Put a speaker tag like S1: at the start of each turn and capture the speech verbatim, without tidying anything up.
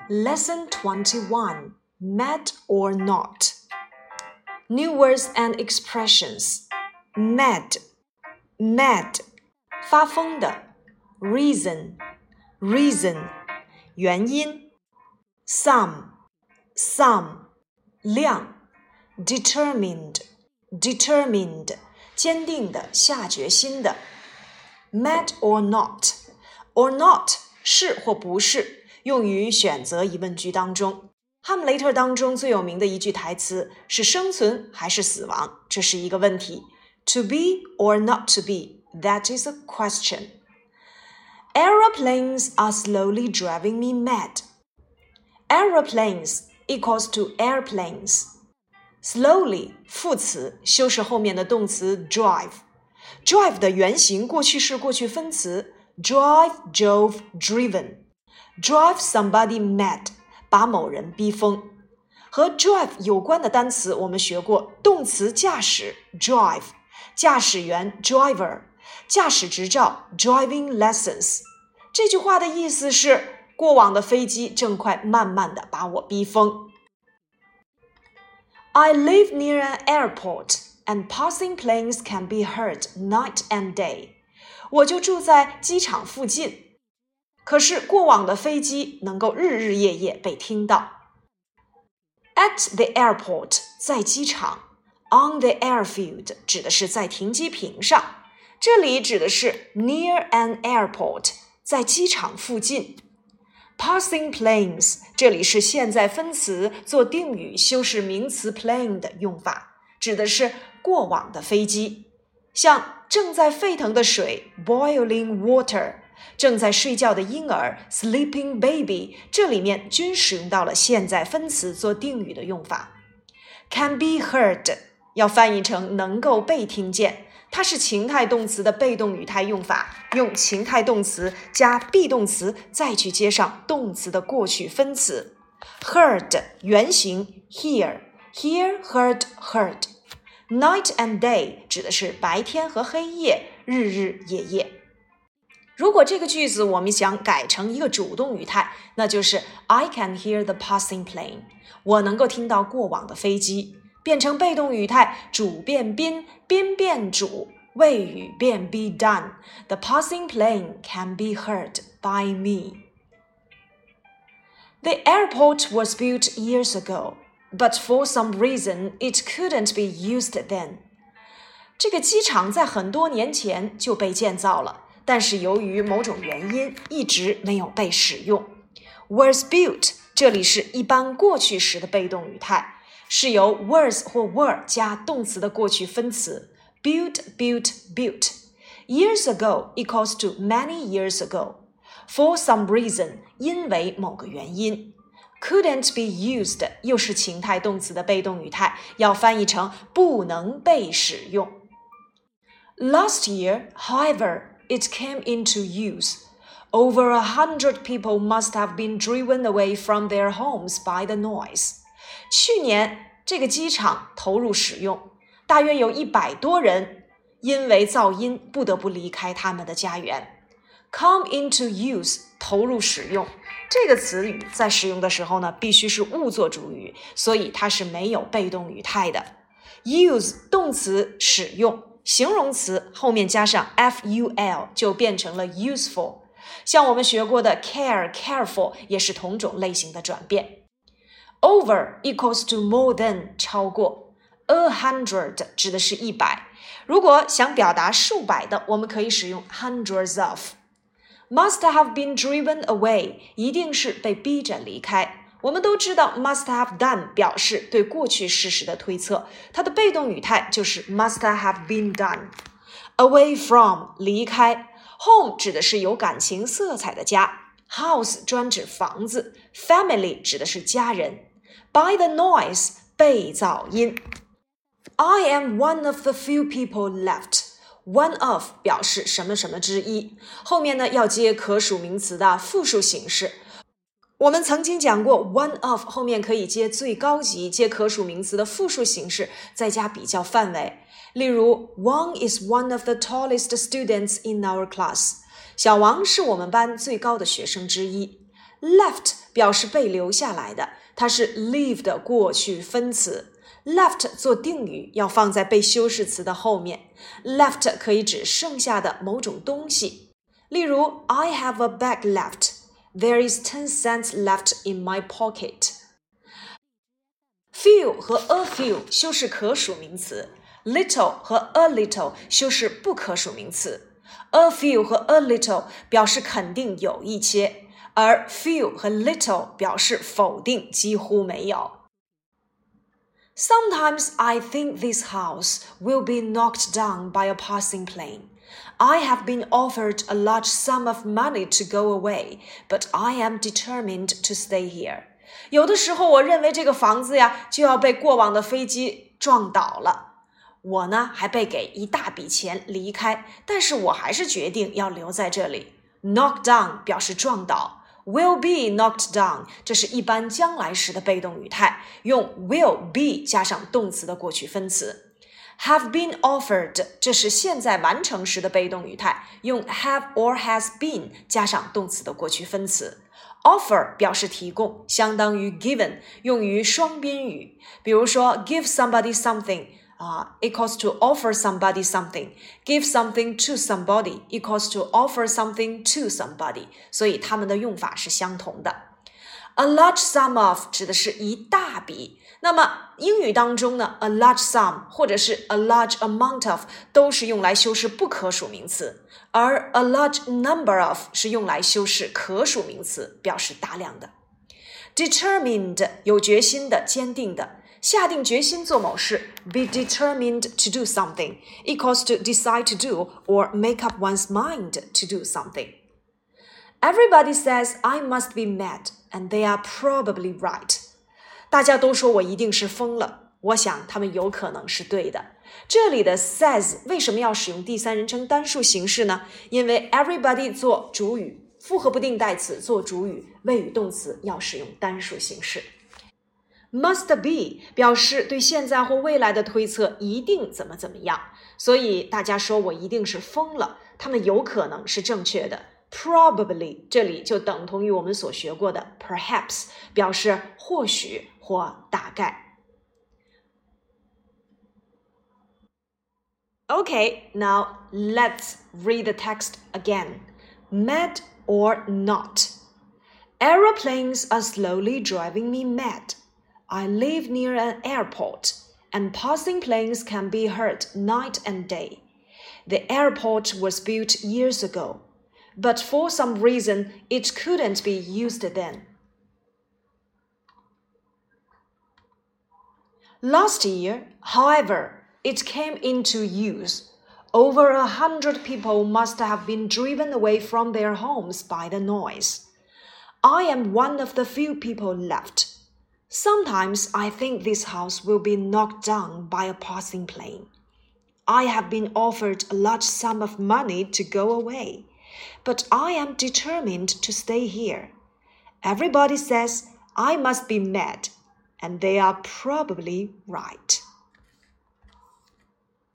S1: Lesson twenty-one, mad or not. New words and expressions. Mad, mad, 发疯的 Reason, reason, 原因 Some, some, 量 Determined, determined, 坚定的，下决心的 Mad or not. Or not, 是或不是，用于选择疑问句当中。哈姆雷特当中最有名的一句台词是生存还是死亡，这是一个问题。To be or not to be, that is a question. Aeroplanes are slowly driving me mad. Aeroplanes equals to airplanes. Slowly, 副词，修饰后面的动词 drive. Drive 的原形过去式过去分词 drive, drove, driven.Drive somebody mad, 把某人逼疯。和 drive 有关的单词我们学过，动词驾驶 drive, 驾驶员 driver, 驾驶执照 driving lessons。这句话的意思是，过往的飞机正快慢慢地把我逼疯。I live near an airport, and passing planes can be heard night and day. 我就住在机场附近。可是过往的飞机能够日日夜夜被听到。At the airport, 在机场 On the airfield, 指的是在停机坪上，这里指的是 near an airport, 在机场附近。Passing planes, 这里是现在分词做定语修饰名词 plane 的用法，指的是过往的飞机。像正在沸腾的水 boiling water，正在睡觉的婴儿 sleeping baby， 这里面均使用到了现在分词做定语的用法。Can be heard 要翻译成能够被听见，它是情态动词的被动语态用法，用情态动词加 be 动词再去接上动词的过去分词。Heard 原形 hear, hear, heard, heard。 Night and day 指的是白天和黑夜，日日夜夜。如果这个句子我们想改成一个主动语态，那就是 I can hear the passing plane， 我能够听到过往的飞机。变成被动语态，主变宾，宾变主，谓语变 be done， The passing plane can be heard by me. The airport was built years ago, but for some reason it couldn't be used then. 这个机场在很多年前就被建造了，但是由于某种原因一直没有被使用。 Was built 这里是一般过去时的被动语态，是由 was 或 were 加动词的过去分词 built, built, built. Years ago equals to many years ago. For some reason 因为某个原因。 Couldn't be used 又是情态动词的被动语态，要翻译成不能被使用。 Last year, however,It came into use. Over a hundred people must have been driven away from their homes by the noise. 去年这个机场投入使用，大约有一百多人因为噪音不得不离开他们的家园。Come into use 投入使用，这个词语在使用的时候呢，必须是物作主语，所以它是没有被动语态的。Use 动词使用，形容词后面加上 ful 就变成了 useful， 像我们学过的 care, careful 也是同种类型的转变。 Over equals to more than 超过， a hundred 指的是一百，如果想表达数百的，我们可以使用 hundreds of。 Must have been driven away 一定是被逼着离开，我们都知道 must have done 表示对过去事实的推测，它的被动语态就是 must have been done。 Away from 离开， home 指的是有感情色彩的家， house 专指房子， family 指的是家人。 By the noise 被噪音。 I am one of the few people left。 One of 表示什么什么之一，后面呢要接可数名词的复数形式。我们曾经讲过 one of 后面可以接最高级，接可数名词的复数形式，再加比较范围。例如 Wang is one of the tallest students in our class。 小王是我们班最高的学生之一。 Left 表示被留下来的，它是 leave 的过去分词。left 做定语要放在被修饰词的后面。left 可以指剩下的某种东西。例如 I have a bag left. There is ten cents left in my pocket. Few 和 a few 修饰可数名词。Little 和 a little 修饰不可数名词。A few 和 a little 表示肯定有一些，而 few 和 little 表示否定几乎没有。Sometimes I think this house will be knocked down by a passing plane. I have been offered a large sum of money to go away, but I am determined to stay here. 有的时候我认为这个房子呀就要被过往的飞机撞倒了。我呢还被给一大笔钱离开，但是我还是决定要留在这里。Knock down 表示撞倒。Will be knocked down 这是一般将来时的被动语态，用 will be 加上动词的过去分词。Have been offered 这是现在完成时的被动语态，用 have or has been 加上动词的过去分词。Offer 表示提供，相当于 given， 用于双宾语。比如说 give somebody something、uh, equals to offer somebody something. Give something to somebody equals to offer something to somebody. 所以它们的用法是相同的。A large sum of 指的是一大笔。那么英语当中呢 a large sum 或者是 a large amount of 都是用来修饰不可数名词，而 a large number of 是用来修饰可数名词，表示大量的。Determined 有决心的，坚定的。下定决心做某事 be determined to do something equals to decide to do or make up one's mind to do something. Everybody says I must be mad, and they are probably right. 大家都说我一定是疯了，我想他们有可能是对的。这里的 says 为什么要使用第三人称单数形式呢？因为 everybody 做主语，复合不定代词做主语，谓语动词要使用单数形式。Must be 表示对现在或未来的推测一定怎么怎么样，所以大家说我一定是疯了，他们有可能是正确的。Probably 这里就等同于我们所学过的 perhaps 表示或许或大概。Okay, now let's read the text again. Mad or not? Aeroplanes are slowly driving me mad. I live near an airport, and passing planes can be heard night and day. The airport was built years ago, but for some reason it couldn't be used then. Last year, however, it came into use. Over a hundred people must have been driven away from their homes by the noise. I am one of the few people left. Sometimes I think this house will be knocked down by a passing plane. I have been offered a large sum of money to go away, but I am determined to stay here. Everybody says I must be mad, and they are probably right.